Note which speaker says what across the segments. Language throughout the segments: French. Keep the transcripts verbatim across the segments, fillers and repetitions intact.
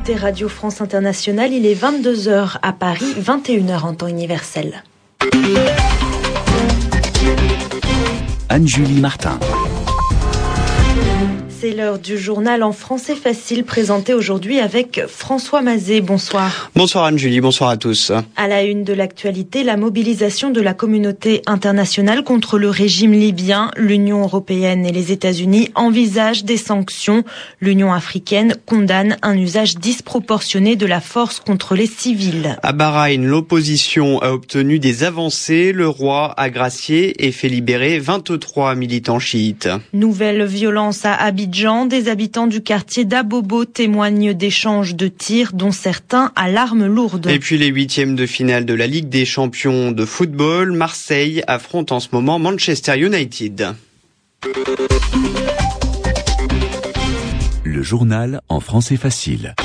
Speaker 1: écoutez Radio France Internationale, il est vingt-deux heures à Paris, vingt et une heures en temps universel.
Speaker 2: Anne-Julie Martin.
Speaker 1: C'est l'heure du journal en français facile présenté aujourd'hui avec François Mazet. Bonsoir.
Speaker 3: Bonsoir Anne-Julie, bonsoir à tous.
Speaker 1: À la une de l'actualité, la mobilisation de la communauté internationale contre le régime libyen. L'Union européenne et les États-Unis envisagent des sanctions. L'Union africaine condamne un usage disproportionné de la force contre les civils.
Speaker 3: À Bahreïn, l'opposition a obtenu des avancées. Le roi a gracié et fait libérer vingt-trois militants chiites.
Speaker 1: Nouvelle violence à Abidjan. Des habitants du quartier d'Abobo témoignent d'échanges de tirs, dont certains à l'arme lourde.
Speaker 3: Et puis les huitièmes de finale de la Ligue des champions de football, Marseille affronte en ce moment Manchester United.
Speaker 2: Le journal en français facile.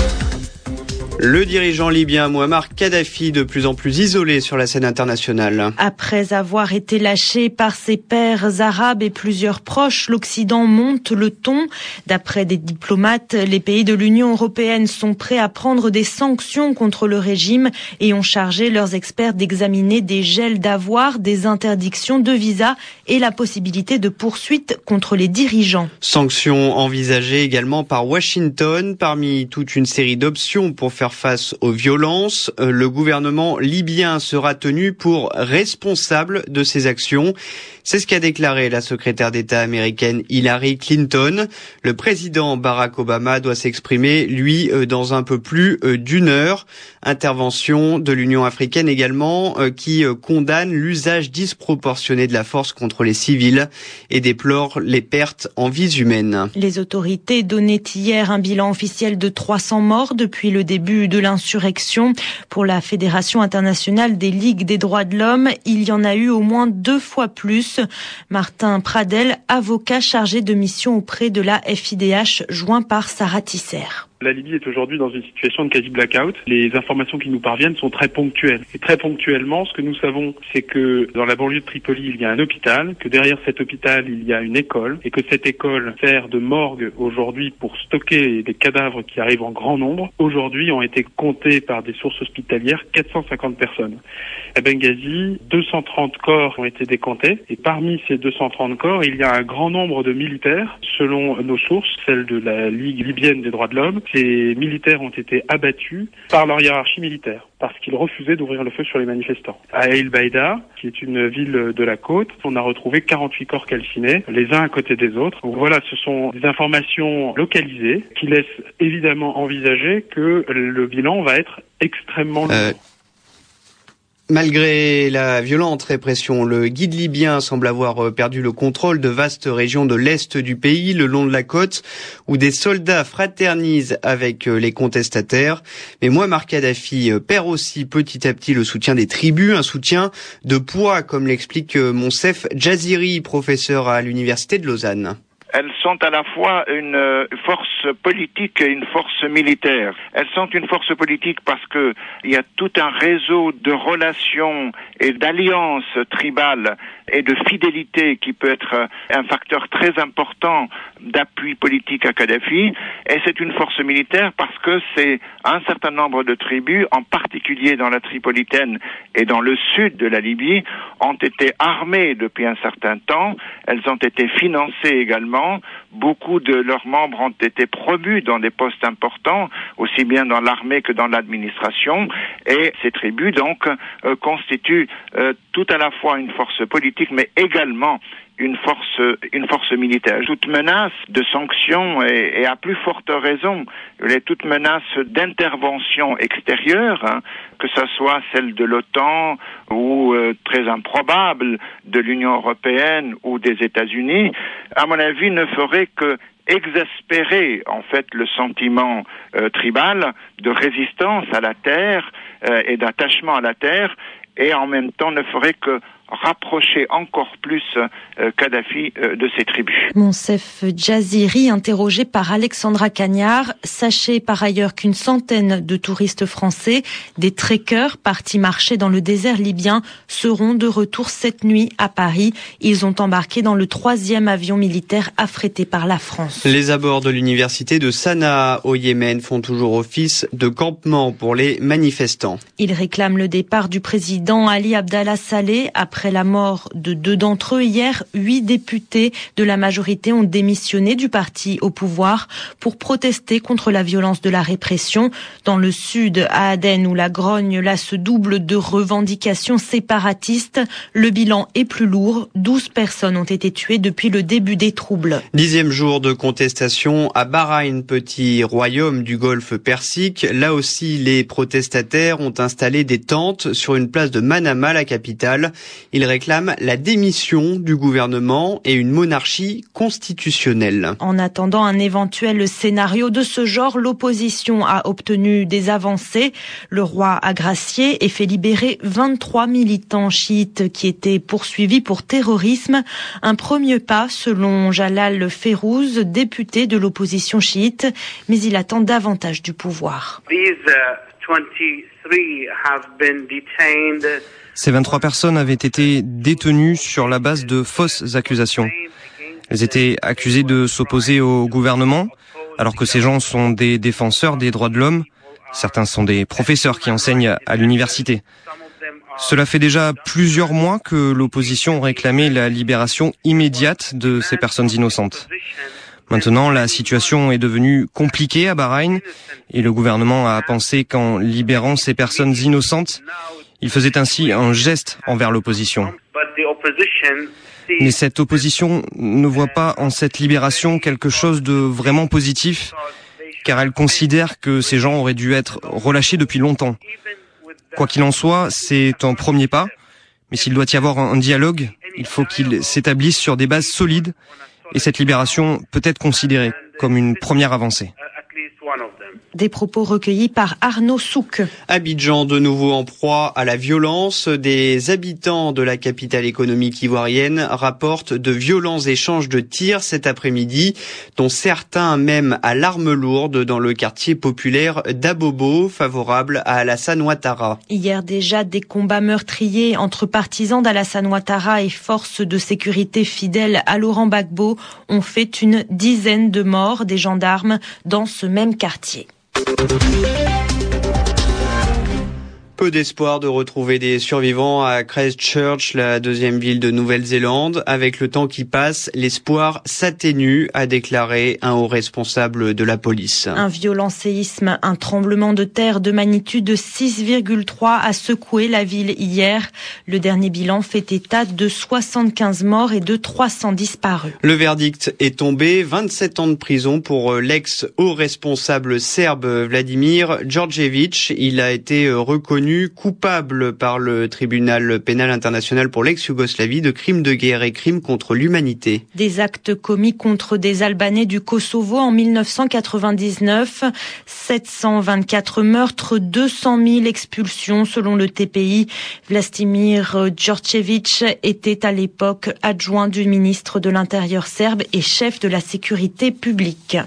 Speaker 3: Le dirigeant libyen Mouammar Kadhafi, de plus en plus isolé sur la scène internationale.
Speaker 1: Après avoir été lâché par ses pairs arabes et plusieurs proches, l'Occident monte le ton. D'après des diplomates, les pays de l'Union européenne sont prêts à prendre des sanctions contre le régime et ont chargé leurs experts d'examiner des gels d'avoirs, des interdictions de visa et la possibilité de poursuites contre les dirigeants.
Speaker 3: Sanctions envisagées également par Washington, parmi toute une série d'options pour faire face aux violences. Le gouvernement libyen sera tenu pour responsable de ces actions. C'est ce qu'a déclaré la secrétaire d'État américaine Hillary Clinton. Le président Barack Obama doit s'exprimer, lui, dans un peu plus d'une heure. Intervention de l'Union africaine également, qui condamne l'usage disproportionné de la force contre les civils et déplore les pertes en vies humaines.
Speaker 1: Les autorités donnaient hier un bilan officiel de trois cents morts depuis le début de l'insurrection. Pour la Fédération internationale des ligues des droits de l'homme, il y en a eu au moins deux fois plus. Martin Pradel, avocat chargé de mission auprès de la F I D H, joint par Sarah Tisser.
Speaker 4: La Libye est aujourd'hui dans une situation de quasi-blackout. Les informations qui nous parviennent sont très ponctuelles. Et très ponctuellement, ce que nous savons, c'est que dans la banlieue de Tripoli, il y a un hôpital, que derrière cet hôpital, il y a une école, et que cette école sert de morgue aujourd'hui pour stocker des cadavres qui arrivent en grand nombre. Aujourd'hui, ont été comptés par des sources hospitalières quatre cent cinquante personnes. À Benghazi, deux cent trente corps ont été décomptés, et parmi ces deux cent trente corps, il y a un grand nombre de militaires, selon nos sources, celles de la Ligue libyenne des droits de l'homme. Ces militaires ont été abattus par leur hiérarchie militaire parce qu'ils refusaient d'ouvrir le feu sur les manifestants. À El Baïda, qui est une ville de la côte, on a retrouvé quarante-huit corps calcinés, les uns à côté des autres. Donc voilà, ce sont des informations localisées qui laissent évidemment envisager que le bilan va être extrêmement lourd. Euh...
Speaker 3: Malgré la violente répression, le guide libyen semble avoir perdu le contrôle de vastes régions de l'est du pays, le long de la côte, où des soldats fraternisent avec les contestataires. Mais Mouammar Kadhafi perd aussi petit à petit le soutien des tribus, un soutien de poids, comme l'explique Monsef Jaziri, professeur à l'université de Lausanne.
Speaker 5: Elles sont à la fois une force politique et une force militaire. Elles sont une force politique parce que il y a tout un réseau de relations et d'alliances tribales et de fidélité qui peut être un facteur très important d'appui politique à Kadhafi. Et c'est une force militaire parce que c'est un certain nombre de tribus, en particulier dans la Tripolitaine et dans le sud de la Libye, ont été armées depuis un certain temps. Elles ont été financées également. Beaucoup de leurs membres ont été promus dans des postes importants, aussi bien dans l'armée que dans l'administration. Et ces tribus, donc, euh, constituent euh, tout à la fois une force politique, mais également une force, une force militaire. Toute menace de sanctions et, et à plus forte raison, les toute menace d'intervention extérieure, hein, que ce soit celle de l'OTAN ou euh, très improbable de l'Union européenne ou des États-Unis, à mon avis, ne ferait que exaspérer en fait le sentiment euh, tribal de résistance à la terre euh, et d'attachement à la terre, et en même temps ne ferait que rapprocher encore plus euh, Kadhafi euh, de ses tribus.
Speaker 1: Monsef Jaziri, interrogé par Alexandra Cagnard. Sachez par ailleurs qu'une centaine de touristes français, des trekkers partis marcher dans le désert libyen, seront de retour cette nuit à Paris. Ils ont embarqué dans le troisième avion militaire affrété par la France.
Speaker 3: Les abords de l'université de Sanaa au Yémen font toujours office de campement pour les manifestants.
Speaker 1: Ils réclament le départ du président Ali Abdallah Saleh après Après la mort de deux d'entre eux hier, huit députés de la majorité ont démissionné du parti au pouvoir pour protester contre la violence de la répression. Dans le sud, à Aden, où la grogne là se double de revendications séparatistes, le bilan est plus lourd. douze personnes ont été tuées depuis le début des troubles.
Speaker 3: Dixième jour de contestation à Bahreïn, petit royaume du golfe Persique. Là aussi, les protestataires ont installé des tentes sur une place de Manama, la capitale. Ils réclament la démission du gouvernement et une monarchie constitutionnelle.
Speaker 1: En attendant un éventuel scénario de ce genre, l'opposition a obtenu des avancées. Le roi a gracié et fait libérer vingt-trois militants chiites qui étaient poursuivis pour terrorisme. Un premier pas, selon Jalal Férouz, député de l'opposition chiite, mais il attend davantage du pouvoir.
Speaker 6: These, uh, twenty-three have been detained.
Speaker 7: Ces vingt-trois personnes avaient été détenues sur la base de fausses accusations. Elles étaient accusées de s'opposer au gouvernement, alors que ces gens sont des défenseurs des droits de l'homme. Certains sont des professeurs qui enseignent à l'université. Cela fait déjà plusieurs mois que l'opposition réclamait la libération immédiate de ces personnes innocentes. Maintenant, la situation est devenue compliquée à Bahreïn et le gouvernement a pensé qu'en libérant ces personnes innocentes, il faisait ainsi un geste envers l'opposition. Mais cette opposition ne voit pas en cette libération quelque chose de vraiment positif, car elle considère que ces gens auraient dû être relâchés depuis longtemps. Quoi qu'il en soit, c'est un premier pas, mais s'il doit y avoir un dialogue, il faut qu'il s'établisse sur des bases solides, et cette libération peut être considérée comme une première avancée.
Speaker 1: Des propos recueillis par Arnaud Souk.
Speaker 3: Abidjan, de nouveau en proie à la violence. Des habitants de la capitale économique ivoirienne rapportent de violents échanges de tirs cet après-midi, dont certains même à l'arme lourde dans le quartier populaire d'Abobo, favorable à Alassane Ouattara.
Speaker 1: Hier déjà, des combats meurtriers entre partisans d'Alassane Ouattara et forces de sécurité fidèles à Laurent Gbagbo ont fait une dizaine de morts des gendarmes dans ce même quartier.
Speaker 3: Peu d'espoir de retrouver des survivants à Christchurch, la deuxième ville de Nouvelle-Zélande. Avec le temps qui passe, l'espoir s'atténue, a déclaré un haut responsable de la police.
Speaker 1: Un violent séisme, un tremblement de terre de magnitude six virgule trois a secoué la ville hier. Le dernier bilan fait état de soixante-quinze morts et de trois cents disparus.
Speaker 3: Le verdict est tombé, vingt-sept ans de prison pour l'ex-haut responsable serbe Vladimir Djordjevic. Il a été reconnu coupable par le tribunal pénal international pour l'ex-Yougoslavie de crimes de guerre et crimes contre l'humanité.
Speaker 1: Des actes commis contre des Albanais du Kosovo en mille neuf cent quatre-vingt-dix-neuf, sept cent vingt-quatre meurtres, deux cent mille expulsions selon le T P I. Vladimir Djordjevic était à l'époque adjoint du ministre de l'Intérieur serbe et chef de la sécurité publique.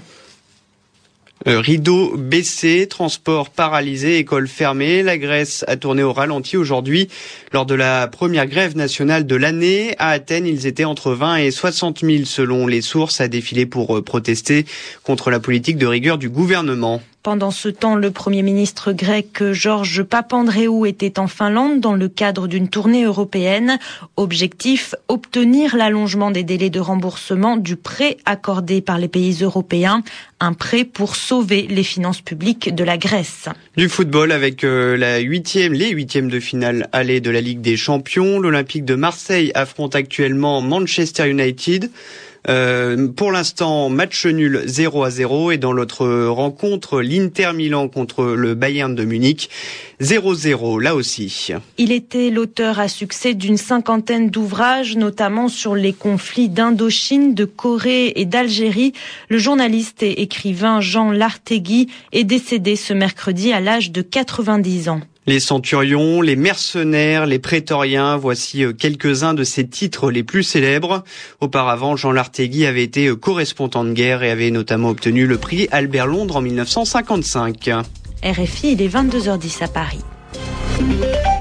Speaker 3: Euh, rideau baissé, transport paralysé, école fermée. La Grèce a tourné au ralenti aujourd'hui. Lors de la première grève nationale de l'année, à Athènes, ils étaient entre vingt et soixante mille selon les sources à défiler pour euh, protester contre la politique de rigueur du gouvernement.
Speaker 1: Pendant ce temps, le Premier ministre grec Georges Papandréou était en Finlande dans le cadre d'une tournée européenne. Objectif, obtenir l'allongement des délais de remboursement du prêt accordé par les pays européens. Un prêt pour sauver les finances publiques de la Grèce.
Speaker 3: Du football avec euh, la huitième, les huitièmes de finale aller de la Ligue des Champions. L'Olympique de Marseille affronte actuellement Manchester United. Euh, pour l'instant, match nul zéro à zéro et dans l'autre rencontre, l'Inter Milan contre le Bayern de Munich, zéro zéro là aussi.
Speaker 1: Il était l'auteur à succès d'une cinquantaine d'ouvrages, notamment sur les conflits d'Indochine, de Corée et d'Algérie. Le journaliste et écrivain Jean Lartegui est décédé ce mercredi à l'âge de quatre-vingt-dix ans.
Speaker 3: Les centurions, les mercenaires, les prétoriens, voici quelques-uns de ses titres les plus célèbres. Auparavant, Jean Lartegui avait été correspondant de guerre et avait notamment obtenu le prix Albert Londres en mille neuf cent cinquante-cinq.
Speaker 1: R F I, il est vingt-deux heures dix à Paris.